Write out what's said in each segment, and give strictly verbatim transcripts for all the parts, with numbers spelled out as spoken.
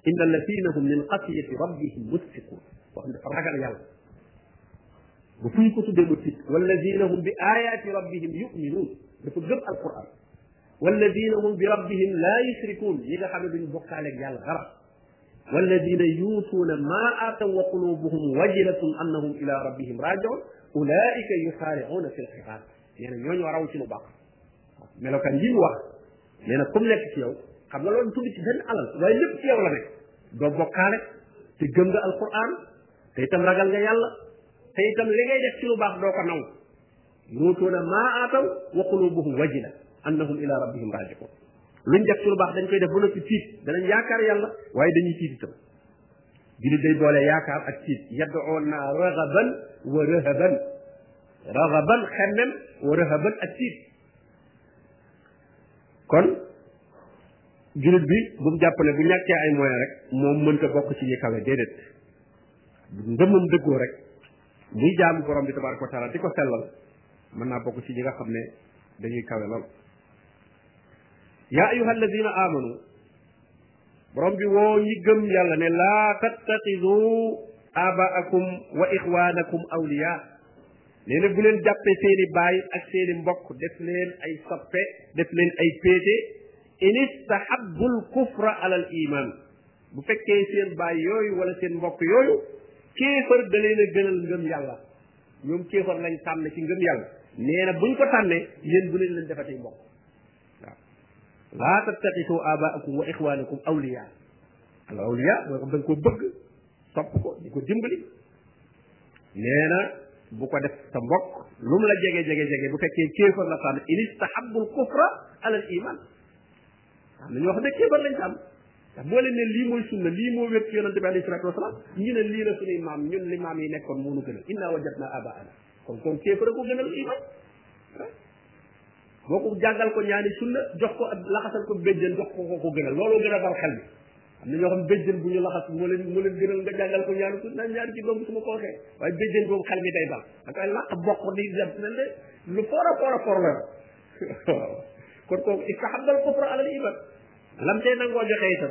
inna alladina hum min xasiyati rabbihim musfiqun wax dafa ragal yàlla bu fuñ ko tuddee mu tiit walladina hum bi ayati rabbihim yuminuun dafa gëm alquran walladina hum bi rabbihim la yushrikuun yi nga xam ne duñ bokkaaleeg yàlla dara walladina yuutuuna ma aataw wa qulubuhum wajilatun annahum ila rabbihim rajiun ulaika yusaariuuna fi lxiraat nee na ñooñu raw ci lu baax melokaan yi mu wax nee na comme nekk ci yow xam nga loolu tudd ci benn alal waaye lépp ci yow la nekk doo bokkaale te gëm nga alquran te itam ragal nga yàlla te itam li ngay def ci lu baax doo ko naw yuutuuna maa aataw wa qulubuhum wajila annahum ila rabbihim rajiun luñ def ci lu baax dañ koy def ba noppi tiit danañ yaakaar yàlla waaye dañuy tiit itam jullit day boole yaakaar ak tiit yad'uuna ragaban wa rahaban ragaban xemmem wa rahaban ak tiit kon jullit bi bu mu jàpp ne bu ñàkkee ay moyens rek moom mënta bokk ci ñi kawe déedéet ngëmam dëggoo rek muy jaamu borom bi tabaraka wa taala di ko sellal mën naa bokk ci ñi nga xam ne dañuy kawe lool yaa ayuha alladina amanu borom bi woo ñi gëm yàlla ne laa tattaxidu abaakum wa ixwanakum awliya nee na bu leen jàppee seeni baay ak seeni mbokk def leen ay soppe def leen ay péete in istahabbu l kufra ala al iman bu fekkee seen baay yooyu wala seen mbokk yooyu kéefar da leen a gënal ngëm yàlla ñoom kéefar lañ tànn ci ngëm yàlla nee na buñ ko tànnee yéen bu leen leen defatee mbokk waaw laa tattaxidu abaakum wa ixwanakum awliya al awliya mooy ko da nga ko bëgg sopp ko di ko dimbali nee na bu ko def sa mbokk lu mu la jege jege jege bu fekkee kéefar la tànn in istahabbu l kufra ala al iman am na ñoo xam ne kéefar lañ tànn ndax boo leen ne lii mooy sunna lii moo wér ci yonente bi alayhi salatu wasalaam ñu ne lii la suñuy maam ñun li maam yi nekkoon moo nu gënal inna wajadna abaana kon kon kéefar ko gënal iman boo ko jàngal ko ñaani sunna jox ko laxasal ko béjjën jox ko ko ko gënal looloo gën a dal xel bi am na ñoo xam béjjën bu ñu laxas moo leen moo leen gënal nga jàngal ko ñaani sunna ñaani ci doom su ma ko waxee waaye béjjën boobu xel mi day dal da koy laq bokk di dem na ne lu foor a foor a foor la waaw kon kooku istahabbal kufra ala al iman lam tey nangoo joxe itam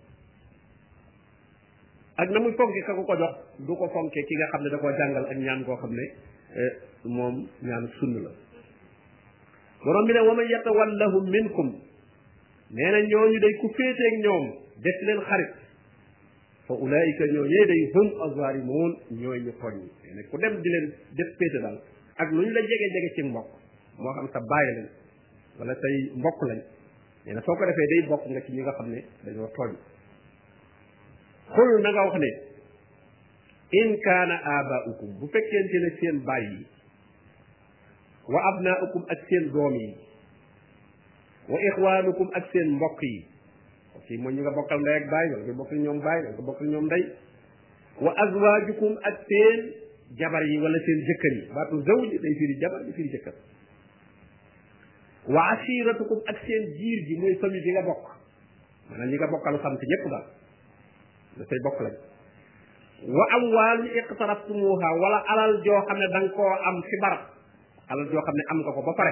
ak na muy fonke ka ko ko jox du ko fonke ki nga xam ne da koo jàngal ak ñaan koo xam ne moom ñaan sunn la borom bi ne wa man yatawallahum minkum nee na ñooñu day ku féeteeg ñoom def leen xarit fa ulaika ñooñee day hum azalimun ñooy ñu tooñ ñi nee na ku dem di leen def féete daal ak lu ñu la jege jege ci mbokk moo xam sa bàyyi lañ wala say mbokk lañ nee na soo ko defee day bokk nga ci ñi nga xam ne dañoo tooñ xul na nga wax ne in kaana abaukum bu fekkente ne seen baay yi wa abnaukum ak seen doom yi wa ixwanukum ak seen mbokk yi ok mooy ñi nga bokkal ndey ak baay wala nga bokkal ñoom baay wala nga bokkal ñoom ndey wa azwajukum ak seen jabar yi wala seen jëkkër yi baatu zawj day firi jabar di firi jëkkër wa ashiratukum ak seen jiir ji mooy famille bi nga bokk maanaam ñi nga bokkal sant ñëpp daal da say bokk lañ wa amwaalun iqtaraftumuha wala alal joo xam ne da nga koo am ci barab alal joo xam ne am nga ko ba pare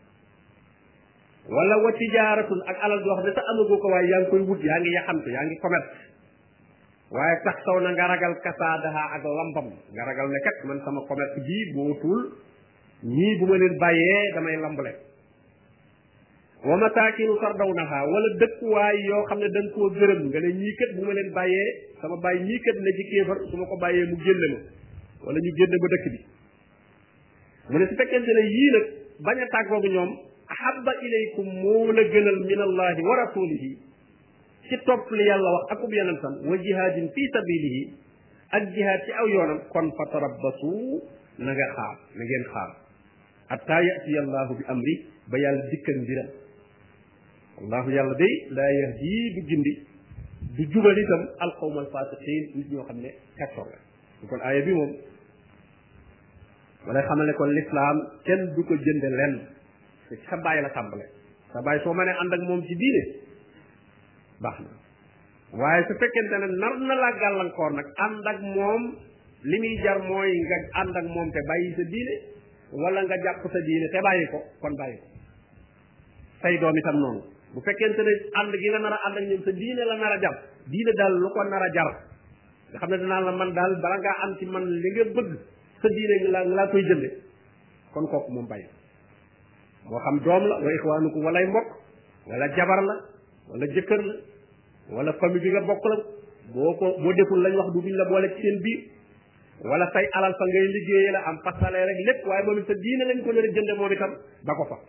wala wa tijaaratun ak alal joo xam ne sa amagoo ko waaye yaa ngi koy wut yaa ngi yaxantu yaa ngi commerce waaye tax saw na nga ragal kasaadaha ak lambam nga ragal ne kat man sama commerce bii boo tul ñii bu ma leen bàyyee damay lambale wa masaakinu tardawnaha wala dëkkuwaay yoo xam ne da nga koo gërëm nga ne ñii kat bu ma leen bàyyee sama bàyyi ñii kat na ci kéefar su ma ko bàyyee mu génne ma wala ñu génne ba dëkk bi mu ne su fekkente ne yii nag bañ a tàggoogu ñoom ahabba ilaykum moo la gënal min allahi wa rasulihi ci topp li yàlla wax akub yonentam wa jihaadin fi sabilihi ak jihaad ci aw yoonam kon fa tarabbasu na nga xaar na ngeen xaar hatta yatiya allahu bi amri ba yàlla dikkal mbiram allahu yàlla day laa yahdi du gindi du jubal itam alqawma alfasiqin nit ñoo xam ne kaccoor la kon aaya bi moom wala xamal ne kon l'islam kenn du ko jënde lenn te ci sa bàyyi la tàmbale sa bàyyi soo mënee ànd ak moom ci diine baax na waaye su fekkente ne nar na laa gàllankoor nag ànd ak moom li muy jar mooy nga ànd ak moom te bàyyi sa diine wala nga jàpp sa diine te bàyyi ko kon bàyyi ko say doom itam noonu bu fekkente ne ànd gi nga nar a ànd ak ñoom sa diine la nar a jàpp diine daal lu ko nar a jar nga xam ne danaa la man daal bala ngaa am ci man li nga bëgg sa diine nga laa nga laa koy jënde kon kooku moom bàyyi moo xam doom la wa ixwaanukum walay mbokk wala jabar la wala jëkkër la wala famille bi nga bokk la boo ko boo deful lañ wax du duñ la boole ci seen biir wala say alal fa ngay liggéeyee la am pasale rek lépp waaye moom it sa diine lañ ko nar a jënde moom itam ba ko fa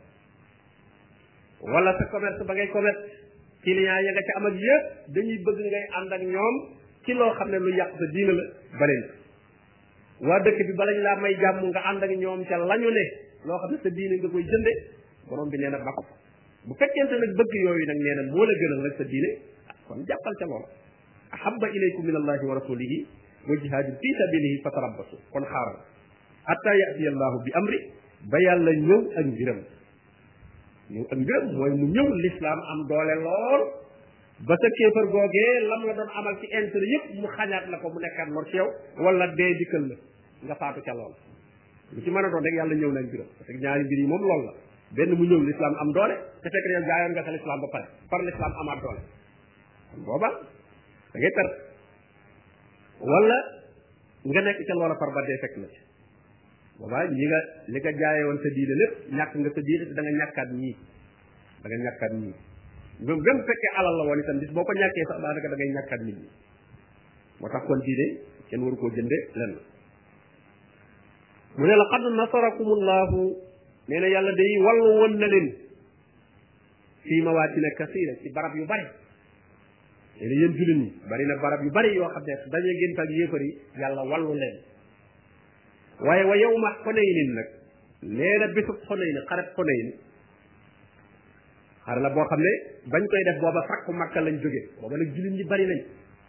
wala sa commerce ba ngay commerce client ya nga ca am ak yëpp dañuy bëgg ngay ànd ak ñoom ci loo xam ne lu yàq sa diine la baleen waa dëkk bi balañ laa may jàmm nga ànd ak ñoom ca lañu ne loo xam ne sa diine nga koy jënde borom bi nee na ba ko fa bu fekkente nag bëgg yooyu nag nee na moo la gënal rek sa diine kon jàppal ca loolu ahabba ilaykum min allahi wa rasulihi wa jihadin fi sabilihi fatarabbasu kon xaaral hatta yati allahu bi amri ba yàlla ñëw ak mbiram ñëw ak mbiram mooy mu ñëw l'islam am doole lool ba sa kéefar googee lam la doon amal ci intérêt yëpp mu xañaat la ko mu nekkaat lor ci yow wala dee dikkal la nga faatu ca lool lu ci mën a doon rek yàlla ñëw na ak mbiram parce que ñaari mbir yi moom loolu la benn mu ñëw l'islam am doole te fekk yow jaayoon nga sa l'islam ba pare par l'islam amaat doole kon booba da ngay perte wala nga nekk ca loola par ba dee fekk na ci boobaa ñi nga li nga jaayee woon sa diine lépp ñàkk nga sa diine te da nga ñàkkaat ñii da nga ñàkkaat ñii même même fekkee alal la woon itam bis boo ko ñàkkee sax daanaka da ngay ñàkkaat nit ñi moo tax kon diine kenn waru koo jënde lenn mu ne la qad nasarakumullahu nee na yàlla day wallu woon na leen fii mawaatina kasira ci barab yu bari nee na yéen jullit ñi bari na barab yu bari yoo xam ne dañu gént ak yéefar yi yàlla wallu leen waaye wa yawma Xunaynin nag nee na bésub Xunayn xaret Xunayn xare la boo xam ne bañ koy def booba fakku Makka lañ jóge booba nag jullit ñi bari nañ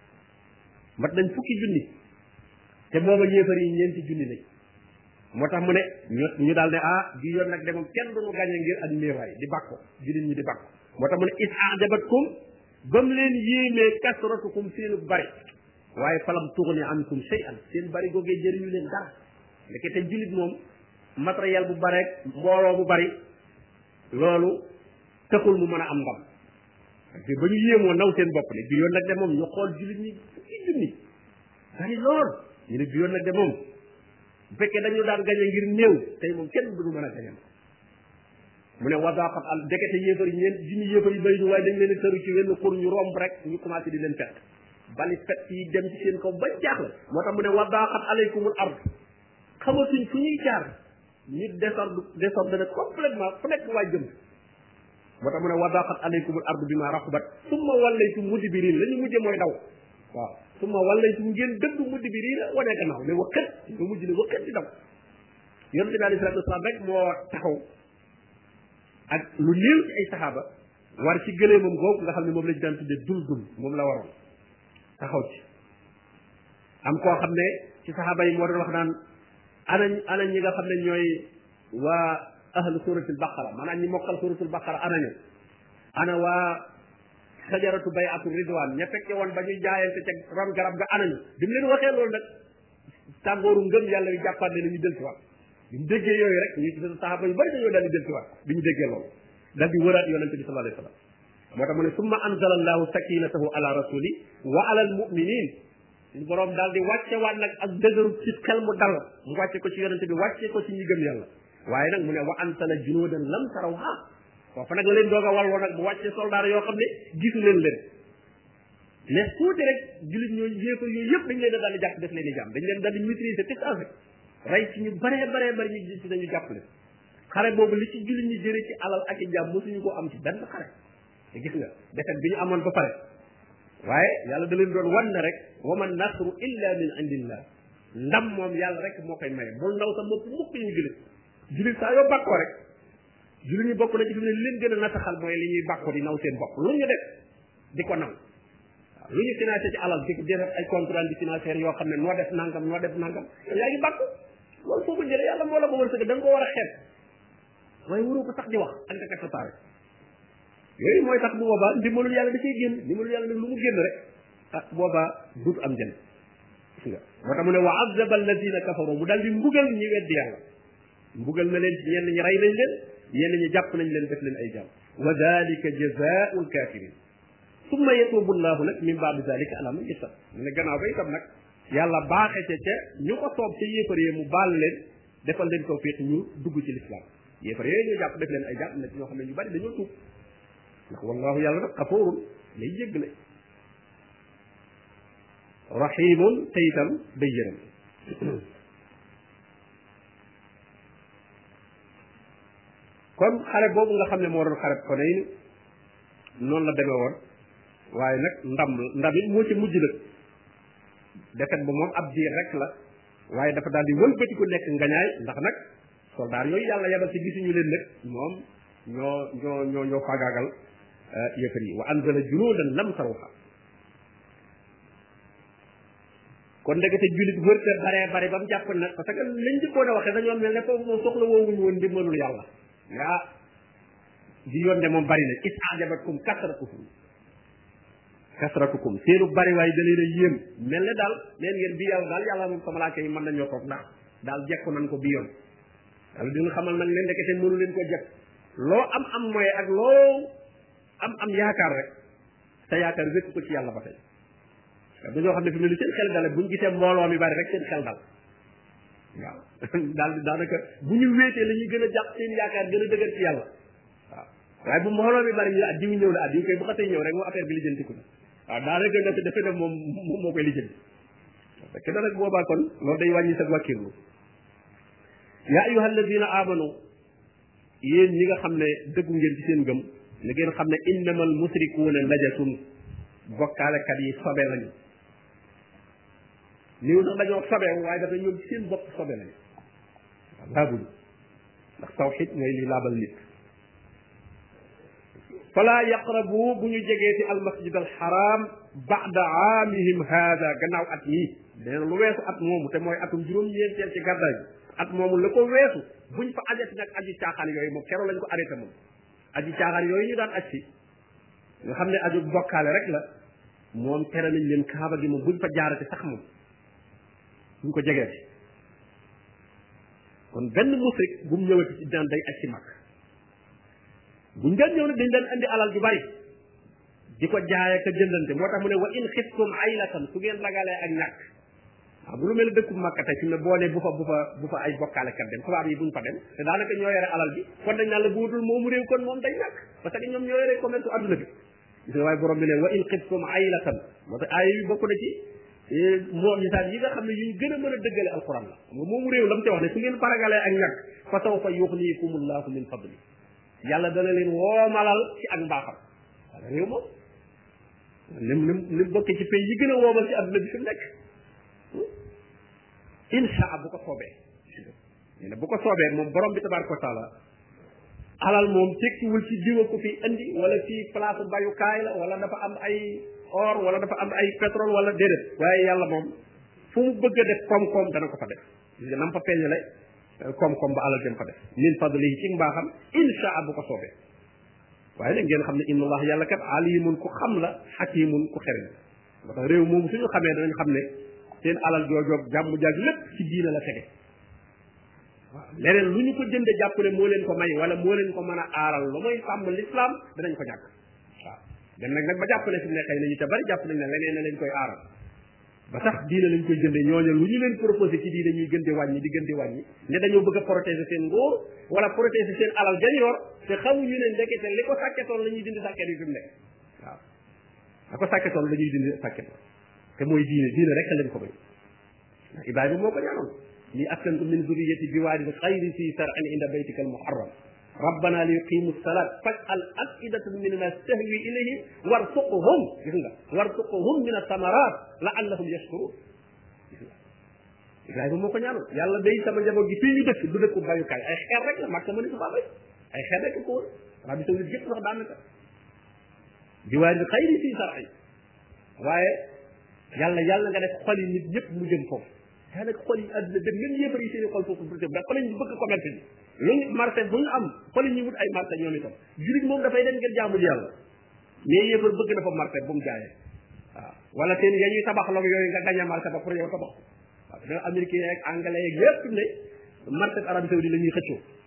mat nañ fukki junni te booba yéefar yi ñeenti junni lañ moo tax mu ne ñu ñu daal ne ah di yoon nag de moom kenn duñu gañe ngir ak néewaay di bàkko jullit ñi di bàkko moo tax mu ne is ajabatkum ba mu leen yéemee kasratukum seenu bari waaye falam tughni ankum shay'an seen bari googee jëriñu leen dara ndekete jullit moom matériel bu bare mbooloo bu bari loolu taxul mu mën a am ndam te ba ñu yéemoo naw seen bopp ne bi yoon nag de moom ñu xool jullit ñi fukki junni bari lool ñu ne bi yoon nag de moom bu fekkee dañu daan gañe ngir néew tey moom kenn duñu mën a gañe mu ne wadaqat al ndekete yéefar yi ñeen junni yéefar yi bëri ñu waaye dañ leen a tëru ci wenn xur ñu romb rek ñu commencé di leen fett bali fett yi dem ci seen kaw ba jaaxle moo tax mu ne wadaqat alaykumul ard xamatuñ fu ñuy jaar nit désordre désordre complètement fu nekk waa jëm moo tax mu ne wadaqat alaykumul ardu bima raxubat summa wallaytum mudbirin la ñu mujje mooy daw waaw summa wallaytum ngeen dëgg mudbirin wane gannaaw ne waqat nga mujj ne waqat di daw yonent bi alayhi salatu wasalaam rek moo taxaw ak lu néew ci ay saxaaba war ci gëlee moom googu nga xam ne moom lañu daan tuddee dul dul moom la waroon taxaw ci am koo xam ne ci saxaaba yi moo doon wax naan ana ana ñi nga xam ne ñooy waa ahlu suratul baqara maanaam ñi mokkal suratul baqara ana ñu ana waa sajaratu bay'atu ridwan ña fekke woon ba ñuy jaayante ca ron garab ga ana ñu bi mu leen waxee loolu nag tàngooru ngëm yàlla yu jàppaat ne ñu del ci waat bi mu déggee yooyu rek ñu ci saxaaba yu bari dañoo daal di del ci waat bi ñu déggee loolu daal di wëraat yonente bi sallallahu alayhi wa sallam moo tax mu ne summa anzala allahu sakinatahu ala rasuli wa ala al muminin suñu boroom daal di wàcce waat nag ak dëgëru ci xel mu dal mu wàcce ko ci yonente bi wàcce ko ci ñi gëm yàlla waaye nag mu ne wa ansala junuudan lam tarawha foofu nag la leen doog a walwoo nag mu wàcce soldaar yoo xam ne gisu leen leen mais tuuti rek jullit ñooñu yéefar yooyu yëpp dañ leen a daal di jàpp def leen di jàmm dañ leen daal di maîtriser tout à fait rey ci ñu baree baree bari ñu gis ci dañu jàpp leen xare boobu li ci jullit ñi jëre ci alal ak i jàmm mosuñu ko am ci benn xare te gis nga defet bi ñu amoon ba pare waaye yàlla da leen doon wan na rek wa man nasru illa min indillah ndam moom yàlla rek moo koy maye bul ndaw sa bopp mukk ñu jullit jullit saa yoo bàkkoo rek jullit ñi bokk na ci fi mu ne li leen gën a nasaxal mooy li ñuy bàkkoo di naw seen bopp lu ñu def di ko naw waaw lu ñu financé ci alal di def ay contrat di financier yoo xam ne noo def nangam noo def nangam yaa ngi bàkku loolu foo ko jëlee yàlla moo la ko wërsëg da nga ko war a xeeb waaye waroo ko sax di wax ak nga kat sa taare yooyu mooy tax bu boobaa ndimbalul yàlla da cay génn ndimbalul yàlla nag lu mu génn rek ah boobaa duut am jën gis nga moo tax mu ne wa azaba alladina kafaru mu daal di mbugal ñi weddi yàlla mbugal na leen ci ñenn ñi rey nañ leen ñenn ñi jàpp nañ leen def leen ay jàmm wa dalika jazaa'ul kafirin summa yatubu llahu nag min ba'di zalika ala man yasha mu ne gannaaw ba itam nag yàlla baaxe ca ca ñu ko soob ca yéefar yi mu baal leen defal leen tawfiq ñu dugg ci l'islam yéefar yooyu ñu jàpp def leen ay jàpp na ci ñoo xam ne ñu bari dañoo tuub ndax wallahu yàlla nag xafoorun lay jéggale rahimun te itam day yërëm kon xare boobu nga xam ne moo doon xare Xunayn noonu la demee woon waaye nag ndam ndam it moo ci mujj nag defet ba moom ab diir rek la waaye dafa daal di wëlbati ko nekk ngañaay ndax nag soldaar yooyu yàlla yabal ci gisuñu leen nag moom ñoo ñoo ñoo ñoo faagaagal yëfar yi wa anzala junuudan lam tarawha kon ndekete jullit wërte bare bare ba mu jàpp nag parce que lañ jëkkoon a waxee dañoo mel ne foofu moom soxla woowuñu woon ndimbalul yàlla ah di yoon de moom bari na is ajabatkum kasratukum kasratukum seenu bari waaye da leen a yéem mel ne daal leen ngeen bi yàlla daal yàlla moom sa malaaka yi mën nañoo toog ndax daal jekku nañ ko bi yoon yàlla dina xamal nag leen ndekete mënu leen ko jekk loo am am mooy ak loo am am yaakaar rek sa yaakaar wékk ko ci yàlla ba tey dañoo xam ne fi mu ne seen xel dale buñ gisee mbooloo mi bari rek seen xel dal waaw daal di daanaka bu ñu wéetee la ñuy gën a jàpp seen yaakaar gën a dëgër ci yàlla waaw waaye bu mbooloo mi bari ñu ah diw ñëw na ah diw koy bu xasee ñëw rek moom affaire bi lijjantiku na waaw daanaka nga dafa def moom moom moo koy lijjanti parce que nag boobaa kon loolu day wàññi sa wàkkirlu yaa ayyuha alladina amanu yéen ñi nga xam ne dëggu ngeen ci seen gëm na ngeen xam ne innamal musrikuuna najasun bokkaalekat yi sobe lañu niw nag dañoo sobeewu waaye dafa ñoom seen bopp sobe lañu waaw laabuñu ndax tawxid mooy li laabal nit fala yaqrabu bu ñu jegee ci almasjid alxaram ba'da aamihim haada gannaaw at mii dana lu weesu at moomu te mooy atum juróom-ñeenteel ci gàddaay bi at moomu la ko weesu buñ fa ajati nag aji caaxaan yooyu moom keroog lañ ko arrêté moom aji caaxaan yooyu ñu daan aj si nga xam ne aju bokkaale rek la moom tere nañ leen kaaba gi moom buñ fa jaarati sax moom buñ ko jegeeti kon benn musrik bu mu ñëwati ci daan day aj si mag buñ daan ñëw nag dañ daan andi alal ju bari di ko jaayee ka jëndante moo tax mu ne wa in xiftum aylatan su ngeen ragalee ak ñàkk waaw bu lu mel ne dëkku Makka tey fi mu ne boo nee bu fa bu fa bu fa ay bokkaalekat dem tubaab yi buñ fa dem te daanaka ñoo yore alal bi kon dañ naan la bu wutul moomu réew kon moom day ñàkk parce que ñoom ñoo yore commerce su adduna bi gis nga waaye borom bi ne wa in xiftum aylatan moo tax aaya yi bokk na ci moo misaal yi nga xam ne yuñ gën a mën a dëggale alquran la xam nga moomu réew la mu ci wax ne su ngeen faragalee ak ñàkk fa sawfa yuxnikumullahu min fadli yàlla dana leen woomalal ci ak mbaaxam wala réew moom lim lim lim bokk ci pays yi gën a woomal ci adduna bi fi mu nekk insha bu ko soobee nee na bu ko soobee moom borom bi tabaraka wa taala alal moom tekkiwul ci diwa ko fi andi wala ci place bayukaay la wala dafa am ay or wala dafa am ay pétrole wala déedéet waaye yàlla moom fu mu bëgg a def koom-koom dana ko fa def gis nga nam fa feeñale koom-koom ba alal dem fa def min fadlihi ci mbaaxam insha bu ko soobee waaye nag ngeen xam ne inna allah yàlla kat alimun ku xam la xakimun ku xereñ moo tax réew moom suñu xamee danañ xam ne seen alal joojoog jàmm jaag lépp ci diina la tege waaw leneen lu ñu ko jënde jàpp ne moo leen ko may wala moo leen ko mën a aaral lu mooy sàmm l'islam danañ ko ñàkk waaw dem nag nag ba jàpp ne fi mu ne xëy na ñu te bari jàpp nañ ne leneen na leen koy aaral ba tax diina lañ koy jënde ñooñu lu ñu leen proposé ci diina ñuy gën di wàññi di gën di wàññi ne dañoo bëgg a protéger seen ngóor wala protéger seen alal jañ yor te xamuñu ne ndekete li ko sàkketoon la ñuy dindi sàkket yi fi mu nekk waaw la ko sàkketoon la ñuy dindi sàkket te mooy diine diine rek lañ ko may ndax Ibrahima moo ko ñaanoon li askantu min zuriyati biwaadin xayri si sar'in inda baytika al muharram rabbana li yuqimu salat faj'al afidatan min nas tahwi ilayhim warzuqhum gis nga warzuqhum min athamarat la'allahum yashkurun Ibrahima moo ko ñaanoon yàlla day sama njaboot gi fii ñu dëkk du dëkku bayukaay ay xeer rek la Makka mëni sa bay ay xeer rek ko wër Arabie Saoudite yëpp wax daanaka biwaadin xayri si sar'in waaye yàlla yàlla nga def xol yi nit ñëpp mu jëm foofu daanaka xol yi àdduna dem même yéefar yi seen i xol foofu pour jëm ndax fa lañ bëgg commerce bi luñu marché bu ñu am fa la ñuy wut ay marché ñoom itam julit moom dafay dem ngir jaamul yàlla mais yéefar bëgg na fa marché bu mu jaayee waaw wala seen ya ñuy tabax log yooyu nga gañe marché ba pour yow tabax waaw da américain yeeg anglais yeeg yépp ne marché Arabie Saoudite la ñuy xëccoo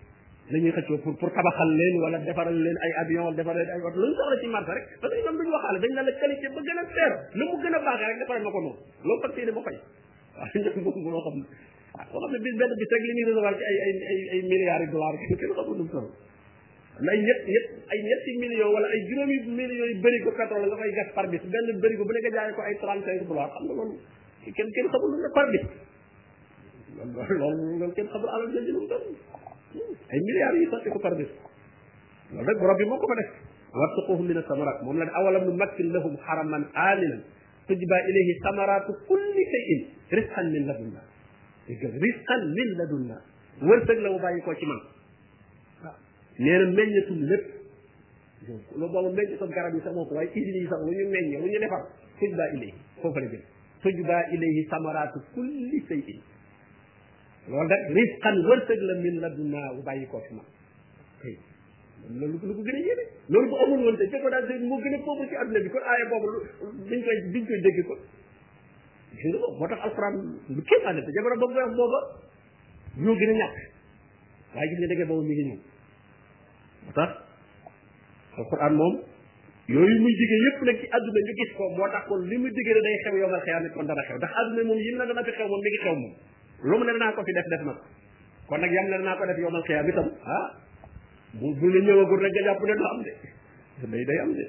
la ñuy xëccoo pour pour tabaxal leen wala defaral leen ay avion defaral leen ay oto lu ñu soxla ci marché rek parce que ñoom duñu waxaale dañ la la qualité ba gën a seer lu mu gën a baaxee rek defaral ma ko moom loolu fas yéene ba fay waaw ñoom boobu moo xam ah boo xam ne bis benn bis rek li ñuy recevoir ci ay ay ay ay milliards de dollars kenn xamul nu mu toll ay ñett ñett ay ñetti millions wala ay juróomi millions yu bëri ko pétrole nga koy gas par bis benn bëri ko bu nekk jaayee ko ay trente cinq dollars xam nga loolu kenn kenn xamul lu ne par bis loolu loolu loolu kenn xamul alal jënd lu mu doon ay milliards yi sotti ko par bis loolu rek borom bi moo ko fa def warzuqhum min as-samarat moom la ne awalam numakkin lahum haraman aminan tujba ilayhi samaratu kulli shay'in rizqan min ladunna rizqan min ladunna wërsëg la mu bàyyi ko ci man waaw nee na meññatul lépp loolu boobu meññatul garab yi sax moo ko waaye usines yi sax lu ñu meññe lu ñu defar tujba ilayhi foofu la jëm tujba ilayhi samaratu kulli shay'in loolu rek risqan wërsëg la min ladunna bu bàyyi koo fi man loolu lu ko gën a yéene loolu bu amul woon te fekk daal moo gën a pauvre ci adduna bi kon aaya boobu duñ koy duñ koy dégg ko gis nga moo tax alxuraan lu kéem ànd te jamono boobu wax booba ñoo gën a ñàkk waaye gis nga déggee boobu mi ngi ñëw moo tax alxuraan moom yooyu muy digee yëpp nag ci adduna ñu gis ko moo tax kon li muy digee day xew yomal xeyaam kon dana xew ndax adduna moom yim na dana fi xew moom mi ngi xew moom lu mu ne danaa ko fi def def na ko kon nag yam ne danaa ko def yomal xiyaam itam ah bu bu la ñëwagul rek nga jàpp ne du am de day day am de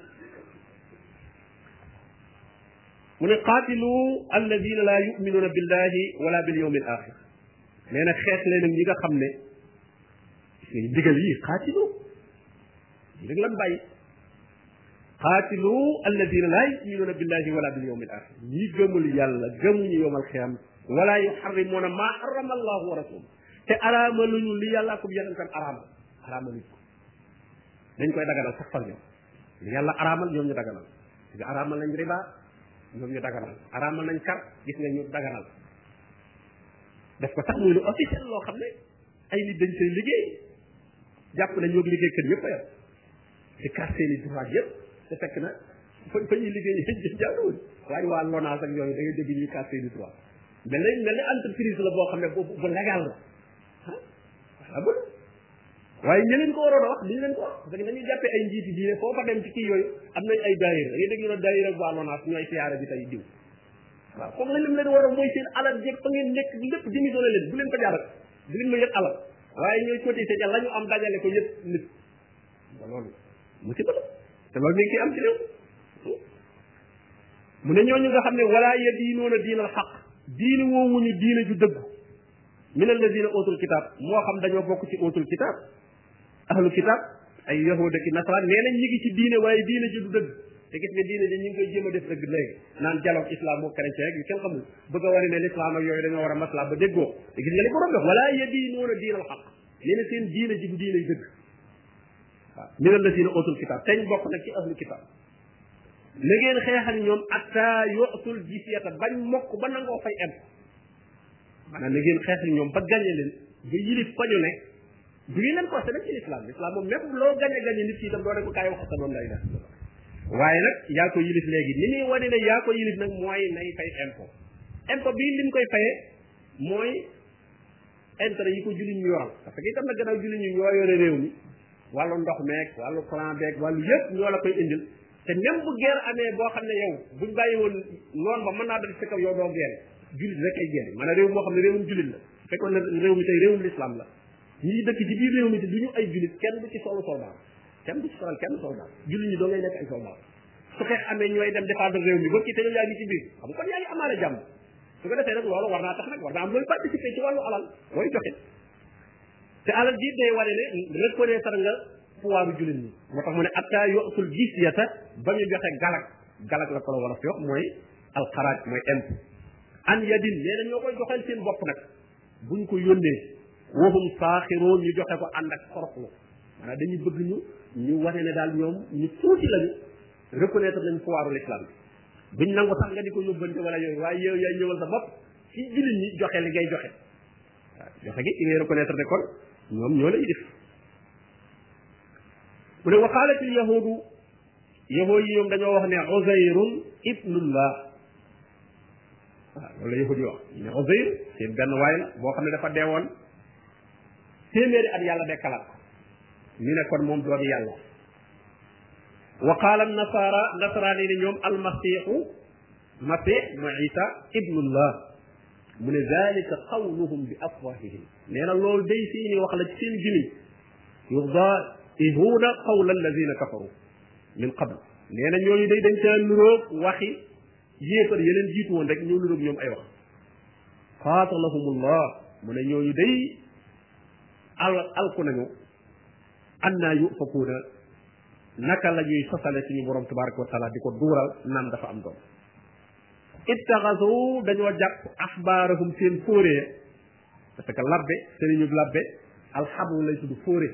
mu ne qaatilu alladina la yuminuna billahi wala bil yawmi al axir nee na xeex leen ak ñi nga xam ne digal yi qaatilu yi rek lan bàyyi qaatilu alladina la yuminuna billahi wala bil yawmi al axir ñi gëmul yàlla gëmuñu yomal xiyaam wala yuharrimuna ma harrama allahu wa rasuluhu te araamaluñu li yàlla ak yonentam araamal araamaluñ ko dañ koy daganal sax far ñoom li yàlla araamal ñoom ñu daganal nga araamal nañ riba ñoom ñu daganal araamal nañ kar gis nga ñu daganal def ko sax muy lu officiel loo xam ne ay nit dañ koy liggéey jàpp na ñoo liggéey kër yëpp a yam di kar seeni droit yëpp te fekk na fa fa ñuy liggéey jàlluwul waaye waa LONASE ak yooyu da ngay dégg ñuy kar seeni droit mel ni mel ni entreprise la boo xam ne bu bu légal la ah voilà bon waaye ñi leen ko waroon a wax duñ leen ko wax parce que dañuy jàppee ay njiiti diine foo fa dem ci kii yooyu am nañ ay daayira da ngay dégg ñu ne daayira ak waa LONASE ñooy siyaare bi tey diw waaw comme la lim leen war a mooy seen alal jeeg fa ngeen nekk lépp démissionné leen bu leen ko jaaral bu leen ma yëg alal waaye ñooy cotisé ca la ñu am dajale ko yëpp nit ba loolu musiba la te loolu mi ngi ciy am ci réew mu ne ñooñu nga xam ne wala yadiinuuna diinal xaq diini woowuñu diine ju dëgg min alladina utul kitab moo xam dañoo bokk ci utul kitab ahlu kitab ay yahuda ki nasaraan nee nañ ñi ngi ci diine waaye diine ji du dëgg te gis nga diine ji ñu ngi koy jéem a def dëgg léegi naan dialogue islam moo chrétien rek yu kenn xamul bëgg a wane ne l'islam ak yooyu dañoo war a masla ba déggoo te gis nga li borom def wala yadiinuuna diinal xaq nee na seen diine ji du diine dëgg waaw min alladina utul kitab teñ bokk nag ci ahlu kitab na ngeen xeexal ñoom atta yu'tul jizyata bañ mokk ba nangoo fay em maanaam na ngeen xeexal ñoom ba gàññe leen ba yilif fa ñu ne du ngeen leen forcé nag ci l'islam l'islam moom même loo gàññe gàññe nit ki itam doo ne ko kaay wax sa doom lay def waaye nag yaa ko yilif léegi ni muy wane ne yaa ko yilif nag mooy nay fay impôt impôt bii lim koy fayee mooy intérêt yi ko jullit ñu yoral parce que itam nag gannaaw jullit ñu ñoo yore réew mi wàllu ndox meeg wàllu courant beeg wàllu yëpp ñoo la koy indil te même bu guerre amee boo xam ne yow buñ bàyyi woon noonu ba mën naa dal ci kaw yow doo guerre jullit rek ay guerre maanaam réew moo xam ne réewum jullit la fekkoon ne réew mi tey réewum l'islam la ñii dëkk ci biir réew mi te du ñu ay jullit kenn du ci solu soldat kenn du ci solal kenn soldat jullit ñi doo ngay nekk ay soldat su xeex amee ñooy dem défendre réew mi ba kii te yow yaa ngi ci biir xam kon yaa ngi amaale jàmm su ko defee nag loolu war naa tax nag war naa am looy participer ci wàllu alal looy joxe te alal ji day wane ne reconnaître nga pouvoir jullit ñi moo tax mu ne atta yu'tul jizyata ba ñu joxe galak galak la ko la war a fi wax mooy alxaraaj mooy impôt an yadin nee na ñoo koy joxeel seen bopp nag buñ ko yónnee waxum saaxiroon ñu joxe ko ànd ak xoroxlu maanaam dañuy bëgg ñu ñu wane ne daal ñoom ñu tuuti lañu reconnaître nañ pouvoiru l'islam bi buñ nangu sax nga di ko yóbbante wala yooyu waaye yow yaay ñëwal sa bopp ci jullit ñi joxe li ngay joxe waaw joxe gi ci ngay reconnaître ne kon ñoom ñoo lay def mu ne waxaalatil yahudu yahoo yi ñoom dañoo wax ne uzayrun ibnullah waaw loolu la yahudi wax ne uzayr seen benn waay la boo xam ne dafa deewoon téeméeri at yàlla dekkalaat ko ñu ne kon moom doomi yàlla wa qaala nasara nasaraan yi ne ñoom almasiixu masix mooy isa ibnullah mu ne dalika qawluhum bi afwahihim nee na loolu day seeni wax la ci seen gimiñ yudaa'ihuuna qawla alladina kafaru min qabl nee na ñooñu day dañ caa nuróog waxi yéefar yeneen jiitu woon rek ñoo nuróog ñoom ay wax qaatalahumullah mu ne ñooñu day al alku nañu annaa yufakuuna naka la ñuy sosale suñu borom tabaraka wa taala di ko duural naan dafa am doom ittaxasu dañoo jàpp axbaarahum seen fóoree parce que labbe sëriñu labbe alxabru lay tudd fóore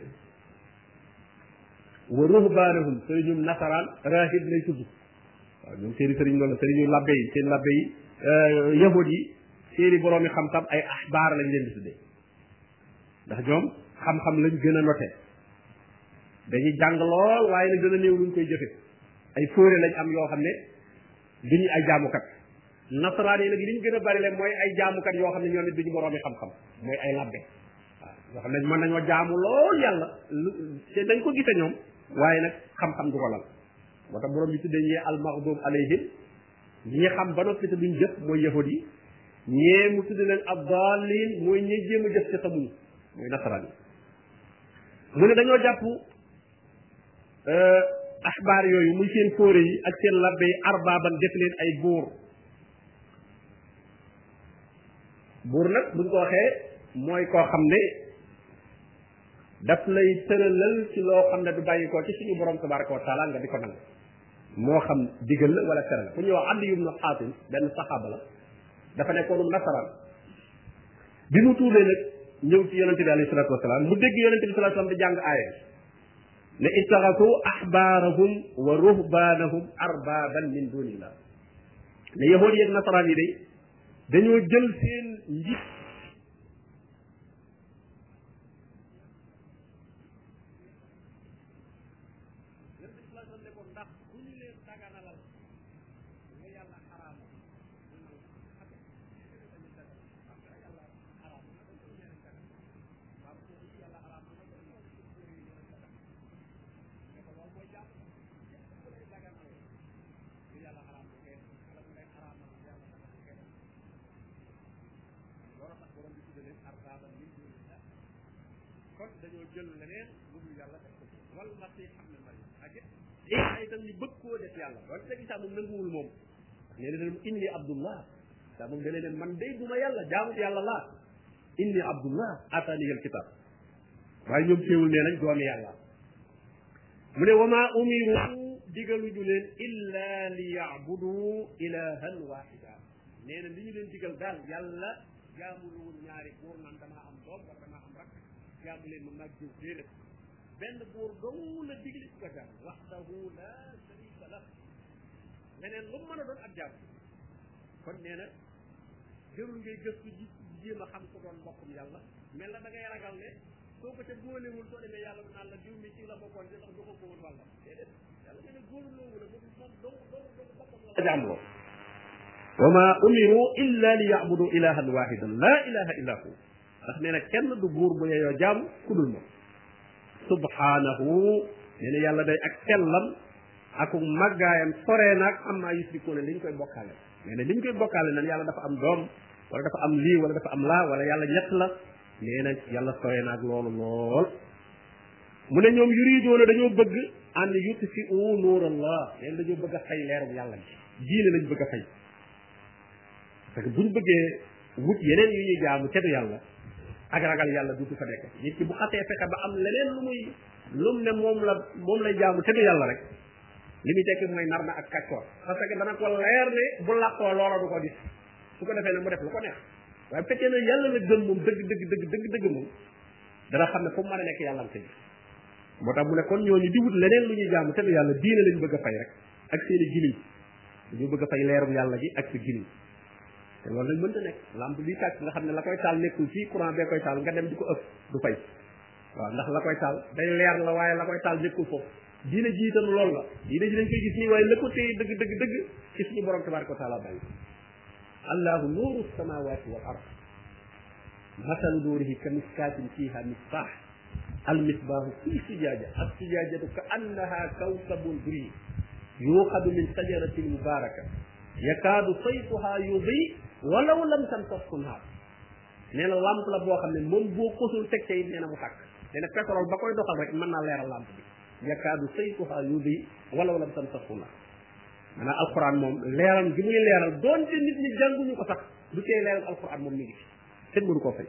wa ruhbaanahum sëriñu nasaraan rahib lay tudd waaw ñoom seeni sëriñ loolu sëriñu labbe yi seen labbe yi yahud yi seeni boroomi xam-xam ay axbaar lañ leen di tuddee ndax ñoom xam-xam lañ gën a noté dañuy jàng lool waaye nag dana néew luñ koy jëfe ay fóore lañ am yoo xam ne duñu ay jaamukat nasaraan yi nag liñ gën a bari leen mooy ay jaamukat yoo xam ne ñoom it duñu boroomi xam-xam mooy ay labbe waaw yoo xam ne mën nañoo jaamu lool yàlla te dañ ko gise ñoom waaye nag xam-xam du ko lal moo tax borom bi tuddee ñee almaxdum alayhim ñi xam ba noppi te duñ jëf mooy yahud yi ñee mu tudde leen abdalin mooy ñi jéem a jëf te xamuñu mooy nasaraan yi mu ne dañoo jàpp axbaar yooyu muy seen fóore yi ak seen labbe yi arbaaban def leen ay buur buur nag buñ ko waxee mooy koo xam ne daf lay tëralal ci loo xam ne du bàyyi ko ci suñu borom tabaraka wa taala nga di ko nangu moo xam digal la wala tere la ku ñuy wax Adi ibnu Xaatim benn saxaaba la dafa nekkoonum nasaraan bi mu tuubee nag ñëw ci yonente bi alayhi salatu wasalaam mu dégg yonente bi salatu wasalaam di jàng aaya ne ittaxasu axbaarahum wa ruhbaanahum arbaaban min dunillah ne yahood yi ak nasaraan yi day dañoo jël seen njit dañoo jël leneen lu dul yàlla def ko wal masih ibn maryam ak ay itam ñu bëgg koo def yàlla wala teg isa moom nanguwul moom nee na leen inni abdullah sa moom dane leen man day duma yàlla jaamu yàlla laa inni abdullah atani al kitab waaye ñoom teewul nee nañ doomi yàlla mu ne wama umiru digaluñu leen illa li ya'budu ilahan wahida nee na li ñu leen digal daal yàlla jaamuluwul ñaari buur naan damaa am doom wala damaa am rak jaamu leen ma mag jiw déedéet benn buur dong la digle ci ko jaam waxdahu la sharika lah leneen lu mën a doon ak jaam kon nee na jërul ngay gëstu ji jéem a xam ko doon mbokkum yàlla mel na da ngay ragal ne soo ko ca góolewul soo demee yàlla naan la diw mi ci la bokkoon di tax du ko ko woon wàlla déedéet yàlla nee na góolu loowu la moom moom dong dong dong boppam la jaam loo wa ma umiru illa li ya'budu ilahan wahidan la ilaha illa hu ndax nee na kenn du buur bu yeyoo jaam ku dul moom subhanahu nee na yàlla day ak sellam ak màggaayam soree naag am maa yusrikuuna li ñu koy bokkaale nee na li ñu koy bokkaale nan yàlla dafa am doom wala dafa am lii wala dafa am laa wala yàlla ñett la nee na yàlla soree naag loolu lool mu ne ñoom yuriidoona dañoo bëgg an yutfi'u nuurallah nee na dañoo bëgg a fay leerum yàlla bi diine lañ bëgg a fay parce que buñ bëggee wut yeneen yu ñuy jaamu te du yàlla ak ragal yàlla duutu fa nekk nit ki bu xasee fexe ba am leneen lu muy lu mu ne moom la moom lay jaamu te du yàlla rek li muy tekki mooy nar na ak kàccoor parce que dana ko leer ne bu làqoo loola du ko gis su ko defee nag mu def lu ko neex waaye bu fekkee ne yàlla la gëm moom dëgg dëgg dëgg dëgg dëgg moom dana xam ne fu mu mën a nekk yàlla am tey moo tax mu ne kon ñooñu di wut leneen lu ñuy jaamu te du yàlla diine lañ bëgg a fay rek ak seeni gimiñ dañu bëgg a fay leerum yàlla gi ak sa gimiñ te loolu nag mënta nekk lampe bi tàkk nga xam ne la koy taal nekkul fii courant bee koy taal nga dem di ko ëpp du fay waaw ndax la koy taal day leer la waaye la koy taal nekkul foofu diine ji itam loolu la diine ji dañ koy gis nii waaye la ko téye dëgg dëgg dëgg ci suñu borom tabaraka wa taala bàyyi allahu nuuru samawati wal ard masalu nuurihi ka miskaatin fiiha misbaax almisbaahu fi sijaaja as-sijaajatu ka annaha kawkabun durri yuuqadu min sajaratin mubaaraka yakaadu saytuha yudii walaw lam tamsashu naar nee na lampe la boo xam ne moom boo kosul teg ca it nee na mu tàkk nee na pétrole ba koy doxal rek mën naa leeral lampe bi yakaadu saytuha yudii walaw lam tamsashu naar maanaam alquran moom leeral gi muy leeral doonte nit ñi jànguñu ko sax du tee leeral alquran moom mi ngi fi kenn mënu koo fay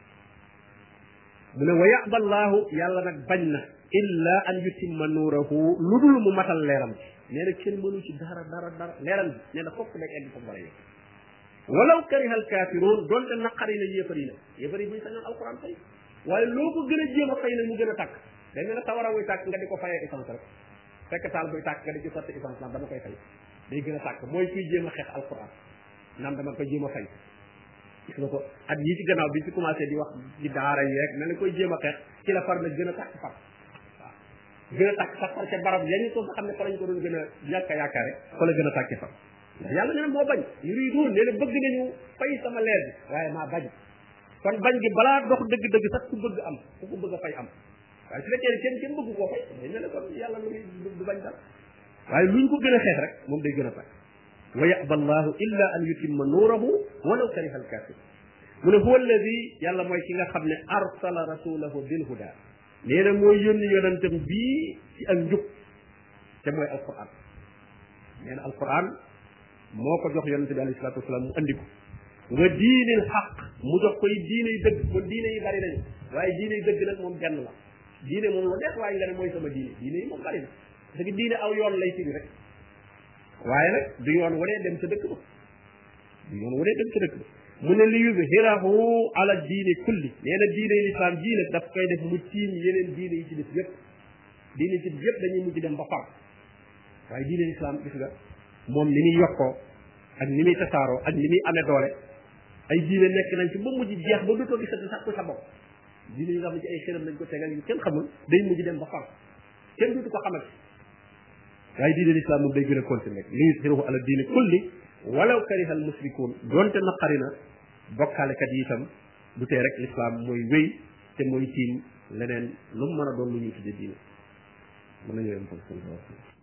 mu ne wa yaba allahu yàlla nag bañ na illa an yutimma nuurahu lu dul mu matal leeram bi nee na kenn mënu ci dara dara dara leeram bi nee na fokk nekk egg fa war a yegg walaw kariha al kaafiruun doonte naqari na yéefar yi nag yéefar yi buñ sañoon alquran fay waaye loo ko gën a jéem a fay nag mu gën a tàkk day mel ne sawara wuy tàkk nga di ko fayee essence rek fekk taal buy tàkk nga di ci sotti essence naan dama koy fay day gën a tàkk mooy kuy jéem a xeex alquran naan dama koy jéem a fay gis nga ko at yii ci gannaaw bi ci commencé di wax ci daara yi rek mel ne koy jéem a xeex ci la far na gën a tàkk far waaw gën a tàkk sax far ca barab yañu ko nga xam ne fa lañ ko doon gën a ñàkk a yaakaare fa la gën a tàkki far ndax yàlla nee na moo bañ yuriduun nee na bëgg nañu fay sama leer bi waaye maa bañ kon bañ gi balaa dox dëgg-dëgg sax ku bëgg am ku ko bëgg a fay am waaye su fekkee kenn kenn bëgg koo fay day mel ne kon yàlla lu muy du bañ dal waaye luñ ko gën a xeex rek moom day gën a tàkk wa yaba allahu illa an yutimma nuurahu walaw kariha al kaafir mu ne huwa alladi yàlla mooy ki nga xam ne arsala rasulahu bil huda nee na mooy yónni yonentam bii ci ak njub te mooy alquran nee na alquran moo ko jox yonente bi alayhi salatu wasalaam mu andi ko wa diinil xaq mu jox koy diine yi dëgg kon diine yi bari nañu waaye diine yi dëgg nag moom benn la diine moom lu neex waaye nga ne mooy sama diine diine yi moom bari na parce que diine aw yoon lay firi rek waaye nag du yoon waree dem ca dëkk ba du yoon waree dem ca dëkk ba mu ne li yuzhirahu ala diine kulli nee na diine yi lislaam jii nag daf koy def mu tiim yeneen diine yi ci def yëpp diine yi ci def yëpp dañuy mujj dem ba far waaye diine lislaam gis nga moom ni muy yokkoo ak ni muy tasaaroo ak ni muy amee doole ay diine nekk nañ ci ba mujj jeex ba dootoo gisati sax ku sa bopp diine yi nga xam ne ci ay xëram lañ ko tegal yu kenn xamul day mujj dem ba far kenn dootu ko xamal waaye diine lislaam moom day gën a continuer li yuzhirahu ala diine kulli walaw kariha al musrikuun doonte naqari na bokkaalekat yi itam du tee rek lislaam mooy wéy te mooy tiim leneen lu mu mën a doon lu ñuy tudde diine mën nañoo yem foofu